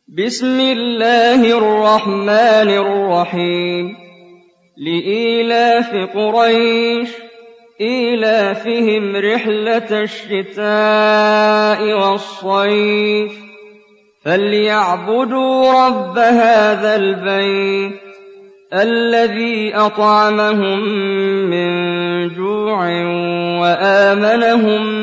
بسم الله الرحمن الرحيم لإيلاف قريش إيلافهم رحلة الشتاء والصيف فليعبدوا رب هذا البيت الذي أطعمهم من جوع وآمنهم